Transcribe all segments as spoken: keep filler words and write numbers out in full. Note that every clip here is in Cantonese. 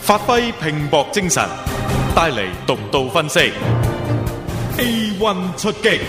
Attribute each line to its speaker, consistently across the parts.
Speaker 1: 發揮拼搏精神，帶嚟獨到分析。A one 出擊，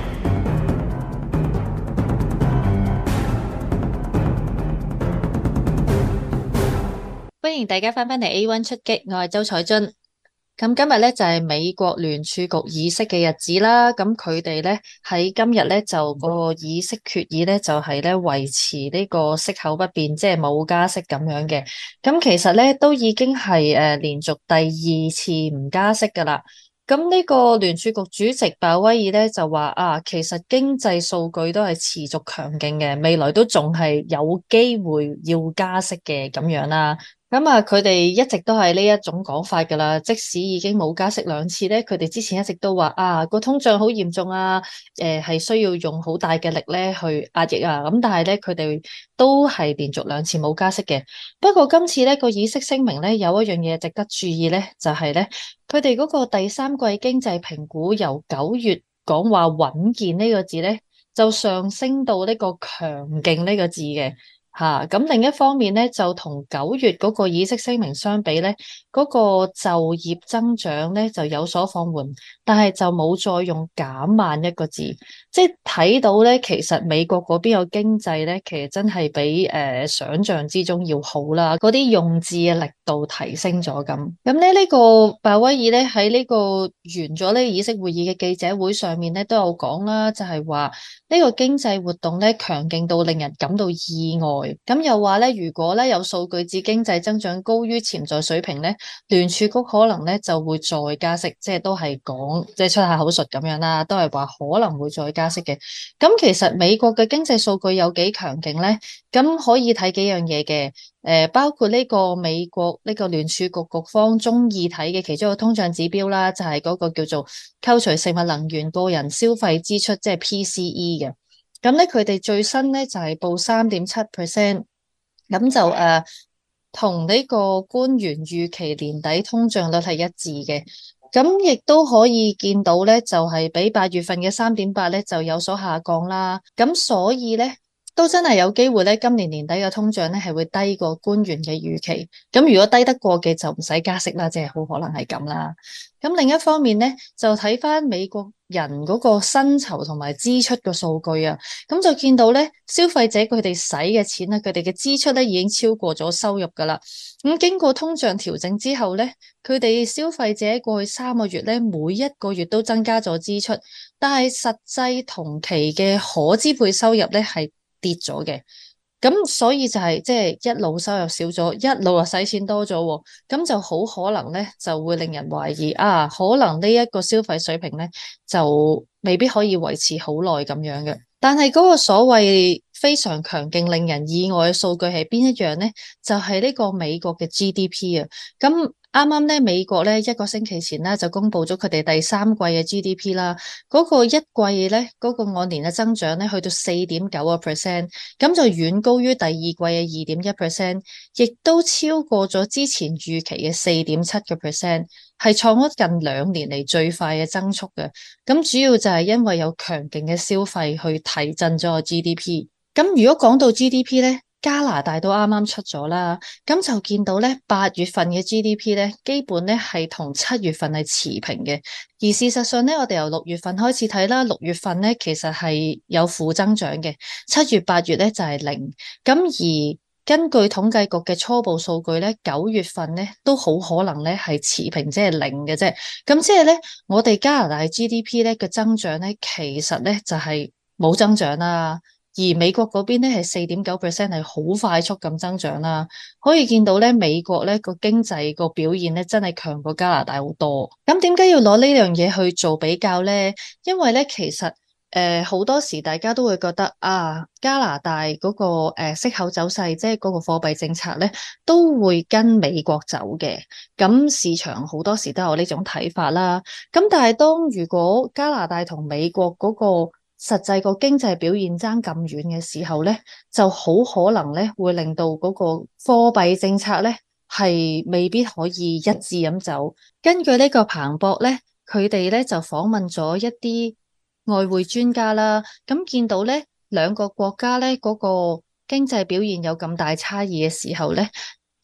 Speaker 2: 歡迎大家翻返嚟 A one 出擊，我係周彩津。咁今日咧就係美國聯儲局議息嘅日子啦，咁佢哋咧喺今日咧就個議息決議咧就係咧維持呢個息口不變，即係冇加息咁樣嘅。咁其實咧都已經係誒連續第二次唔加息噶啦。咁呢個聯儲局主席鮑威爾咧就話啊，其實經濟數據都係持續強勁嘅，未來都仲係有機會要加息嘅咁樣啦。咁啊，佢哋一直都係呢一種講法噶啦，即使已經冇加息兩次咧，佢哋之前一直都話啊個通脹好嚴重啊，誒、呃、係需要用好大嘅力咧去壓抑啊，咁但係咧佢哋都係連續兩次冇加息嘅。不過今次咧個議息聲明咧有一樣嘢值得注意咧，就係咧佢哋嗰個第三季經濟評估由九月講話穩健呢個字咧，就上升到呢個強勁呢個字嘅。吓，咁、啊、另一方面咧，就同九月嗰個議息聲明相比咧，嗰、那個就業增長咧就有所放緩，但係就冇再用減慢一個字，即係睇到咧，其實美國嗰邊個經濟咧，其實真係比誒、呃、想象之中要好啦，嗰啲用字嘅力度提升咗咁。咁咧呢、這個鮑威爾咧喺呢個完咗呢個議息會議嘅記者會上面咧都有講啦，就係話呢個經濟活動咧強勁到令人感到意外。咁又話咧，如果咧有數據指經濟增長高於潛在水平咧，聯儲局可能咧就會再加息，即係都係講即係出下口術咁樣啦，都係話可能會再加息嘅。咁其實美國嘅經濟數據有幾強勁咧？咁可以睇幾樣嘢嘅，誒，包括呢個美國呢個聯儲局局方中意睇嘅其中一個通脹指標啦，就係嗰個叫做扣除食物、能源、個人消費支出，即係 P C E 嘅。咁咧，佢哋最新咧就係、是、報三點七 percent，咁就誒同呢個官員預期年底通脹率係一致嘅。咁亦都可以見到咧，就係、是、比八月份嘅三點八咧就有所下降啦。咁所以咧都真係有機會咧，今年年底嘅通脹咧係會低過官員嘅預期。咁如果低得過嘅就唔使加息啦，即係好可能係咁啦。咁另一方面咧，就睇翻美國人嗰個薪酬同埋支出嘅數據啊，咁就見到咧，消費者佢哋使嘅錢咧，佢哋嘅支出咧已經超過咗收入噶啦。咁經過通脹調整之後咧，佢哋消費者過去三個月咧，每一個月都增加咗支出，但係實際同期嘅可支配收入咧係跌咗嘅。咁所以就係即係一路收入少咗，一路又使錢多咗，咁就好可能咧就會令人懷疑啊，可能呢一個消費水平咧就未必可以維持好耐咁樣嘅。但係嗰個所謂非常強勁令人意外嘅數據係邊一樣咧？就係呢個美國嘅 G D P 啊，咁。啱啱咧，美國咧一個星期前咧就公布咗佢哋第三季嘅 G D P 啦，嗰個一季咧嗰個按年嘅增長咧去到四點九個 percent，咁就遠高於第二季嘅二點一 percent，亦都超過咗之前預期嘅四點七個 percent，係創咗近兩年嚟最快嘅增速嘅。咁主要就係因為有強勁嘅消費去提振咗個 G D P。咁如果講到 G D P 咧，加拿大都啱啱出咗啦，咁就見到咧八月份嘅 G D P 咧，基本咧係同七月份係持平嘅。而事實上咧，我哋由六月份開始睇啦，六月份咧其實係有負增長嘅，七月八月咧就係零。咁而根據統計局嘅初步數據咧，九月份咧都好可能咧係持平，即係零嘅啫。咁即係咧，我哋加拿大 G D P 咧嘅增長咧，其實咧就係冇增長啦。而美國嗰邊咧係四點九 percent， 係好快速咁增長啦，可以見到咧美國咧個經濟個表現咧真係強過加拿大好多。咁點解要攞呢樣嘢去做比較咧？因為咧其實誒好多時大家都會覺得啊，加拿大嗰個誒息口走勢，即係嗰個貨幣政策咧，都會跟美國走嘅。咁市場好多時都有呢種睇法啦。咁但係當如果加拿大同美國嗰個實際個經濟表現爭咁遠嘅時候咧，就好可能咧會令到嗰個貨幣政策咧係未必可以一致咁走。根據呢個彭博咧，佢哋咧就訪問咗一啲外匯專家啦，咁見到咧兩個國家咧嗰個經濟表現有咁大差異嘅時候咧，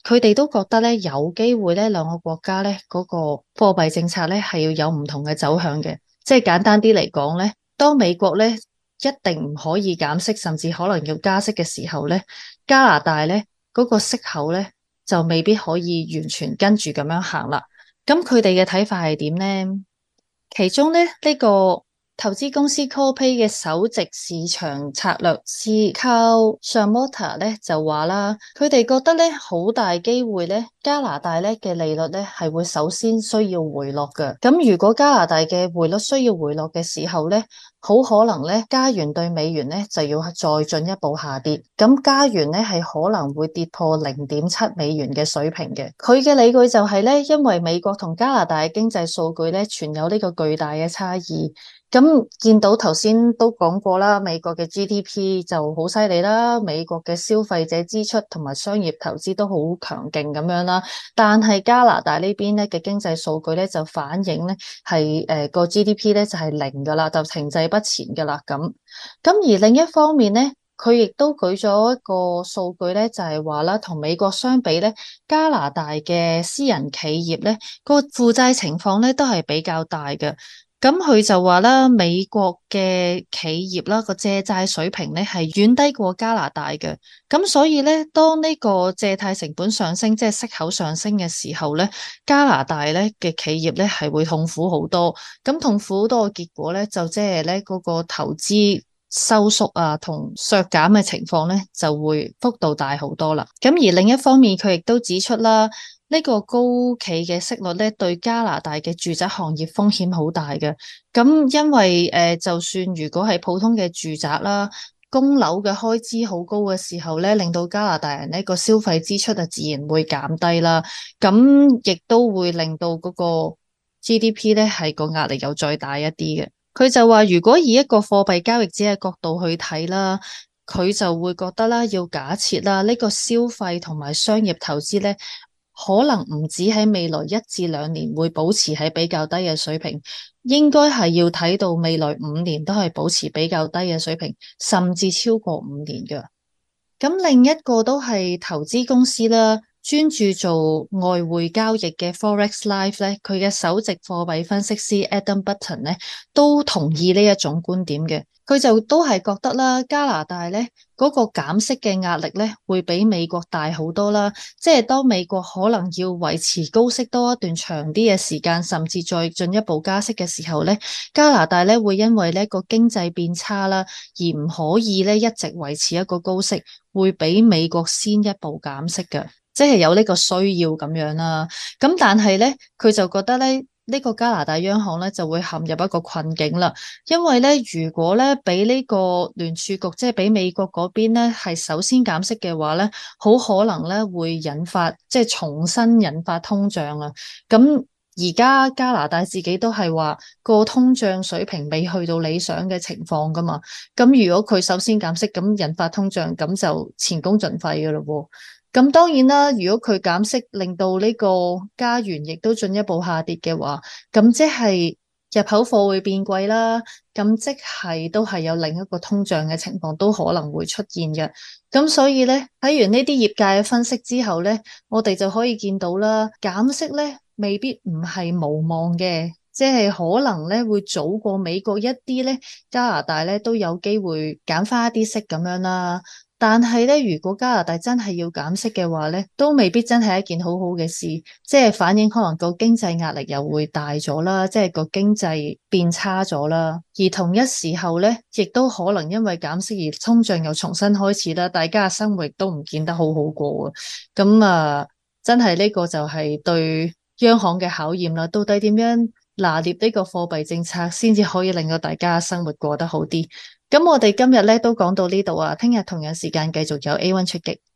Speaker 2: 佢哋都覺得咧有機會咧兩個國家咧嗰個貨幣政策咧係要有唔同嘅走向嘅。即係簡單啲嚟講咧，當美國咧一定唔可以減息，甚至可能要加息嘅時候咧，加拿大咧嗰個息口咧就未必可以完全跟住咁樣行啦。咁佢哋嘅睇法係點咧？其中咧呢個投資公司 Corpay 嘅首席市場策略師 Kyle Shamotta 咧就話啦，佢哋覺得咧好大機會咧加拿大咧嘅利率咧係會首先需要回落嘅。咁如果加拿大嘅匯率需要回落嘅時候咧，好可能咧加元對美元咧就要再進一步下跌。咁加元咧係可能會跌破零點七美元嘅水平嘅。佢嘅理據就係咧，因為美國同加拿大嘅經濟數據咧存有呢個巨大嘅差異。咁見到頭先都講過啦，美國嘅 G D P 就好犀利啦，美國嘅消費者支出同埋商業投資都好強勁咁樣啦。但係加拿大呢邊咧嘅經濟數據咧就反映咧係誒個 G D P 咧就係零噶啦，就停滯不前噶啦咁。咁而另一方面咧，佢亦都舉咗一個數據咧，就係話啦，同美國相比咧，加拿大嘅私人企業咧個負債情況咧都係比較大嘅。咁佢就話啦，美國嘅企業啦個借債水平咧係遠低過加拿大嘅，咁所以咧當呢個借貸成本上升，即係息口上升嘅時候咧，加拿大咧嘅企業咧係會痛苦好多，咁痛苦好多嘅結果咧就即係咧嗰個投資收縮啊同削減嘅情況咧就會幅度大好多啦。咁而另一方面，佢亦都指出啦，呢個高企嘅息率咧，對加拿大嘅住宅行業風險好大嘅。咁因為誒、呃，就算如果係普通嘅住宅啦，供樓嘅開支好高嘅時候咧，令到加拿大人呢個消費支出啊，自然會減低啦。咁亦都會令到嗰個 G D P 咧係個壓力又再大一啲嘅。佢就話，如果以一個貨幣交易者嘅角度去睇啦，佢就會覺得啦，要假設啦，呢個消費同埋商業投資咧，可能唔止喺未來一至兩年會保持喺比較低嘅水平，應該係要睇到未來五年都係保持比較低嘅水平，甚至超過五年嘅。咁另一個都係投資公司啦，專注做外匯交易嘅 Forex Life 咧，佢嘅首席貨幣分析師 Adam Button 咧都同意呢一種觀點嘅。佢就都係覺得啦，加拿大咧嗰個減息嘅壓力咧會比美國大好多啦。即係當美國可能要維持高息多一段長啲嘅時間，甚至再進一步加息嘅時候咧，加拿大咧會因為呢個經濟變差啦，而唔可以咧一直維持一個高息，會比美國先一步減息嘅，即係有呢個需要咁樣啦。咁但係咧，佢就覺得咧。呢個加拿大央行咧就會陷入一個困境啦，因為咧如果咧俾呢個聯儲局即係俾美國嗰邊咧係首先減息嘅話咧，好可能咧會引發即係重新引發通脹啊。咁而家加拿大自己都係話個通脹水平未去到理想嘅情況噶嘛，咁如果佢首先減息，咁引發通脹，咁就前功盡廢噶咯喎。咁當然啦，如果佢減息令到呢個加元亦都進一步下跌嘅話，咁即係入口貨會變貴啦，咁即係都係有另一個通脹嘅情況都可能會出現嘅。咁所以咧，睇完呢啲業界嘅分析之後咧，我哋就可以見到啦，減息咧未必唔係無望嘅，即係可能咧會早過美國一啲咧，加拿大咧都有機會減翻一啲息咁樣啦。但係咧，如果加拿大真係要減息嘅話咧，都未必真係一件好好嘅事，即係反映可能個經濟壓力又會大咗啦，即係個經濟變差咗啦。而同一時候咧，亦都可能因為減息而通脹又重新開始啦，大家嘅生活亦都唔見得好好過啊。咁啊，真係呢個就係對央行嘅考驗啦。到底點樣拿捏呢個貨幣政策，先至可以令到大家生活過得好啲？咁我哋今日咧都講到呢度啊，聽日同樣時間繼續有 A 一 出擊。